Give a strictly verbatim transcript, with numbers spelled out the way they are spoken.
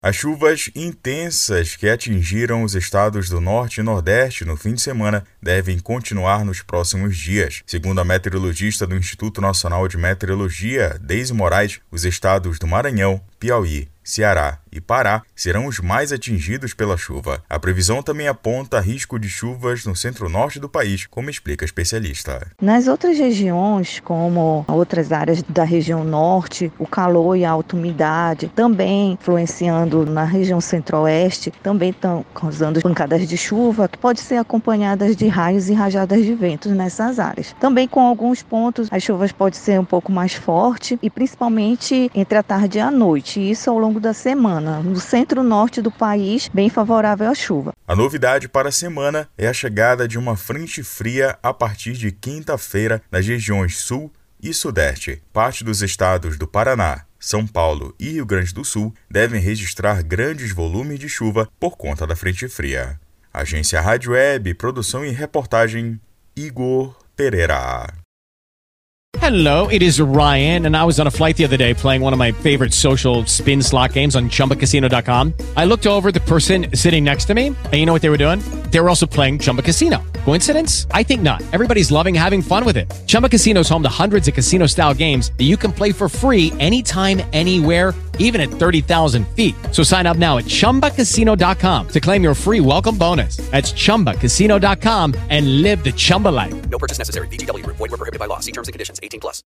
As chuvas intensas que atingiram os estados do Norte e Nordeste no fim de semana devem continuar nos próximos dias. Segundo a meteorologista do Instituto Nacional de Meteorologia, Deise Moraes, os estados do Maranhão, Piauí, Ceará e Pará serão os mais atingidos pela chuva. A previsão também aponta risco de chuvas no centro-norte do país, como explica a especialista. Nas outras regiões, como outras áreas da região norte, o calor e a alta umidade também influenciando na região centro-oeste, também estão causando pancadas de chuva, que podem ser acompanhadas de raios e rajadas de ventos nessas áreas. Também com alguns pontos, as chuvas podem ser um pouco mais fortes e principalmente entre a tarde e a noite, isso ao longo da semana. No centro-norte do país, bem favorável à chuva. A novidade para a semana é a chegada de uma frente fria a partir de quinta-feira nas regiões sul e sudeste. Parte dos estados do Paraná, São Paulo e Rio Grande do Sul devem registrar grandes volumes de chuva por conta da frente fria. Agência Rádio Web, produção e reportagem, Igor Pereira. Hello, it is Ryan, and I was on a flight the other day playing one of my favorite social spin slot games on Chumba Casino dot com. I looked over at the person sitting next to me, and you know what they were doing? They were also playing Chumba Casino. Coincidence? I think not. Everybody's loving having fun with it. Chumba Casino is home to hundreds of casino-style games that you can play for free anytime, anywhere, even at thirty thousand feet. So sign up now at Chumba Casino dot com to claim your free welcome bonus. That's Chumba Casino dot com and live the Chumba life. No purchase necessary. V G W. Void where prohibited by law. See terms and conditions. eighteen plus.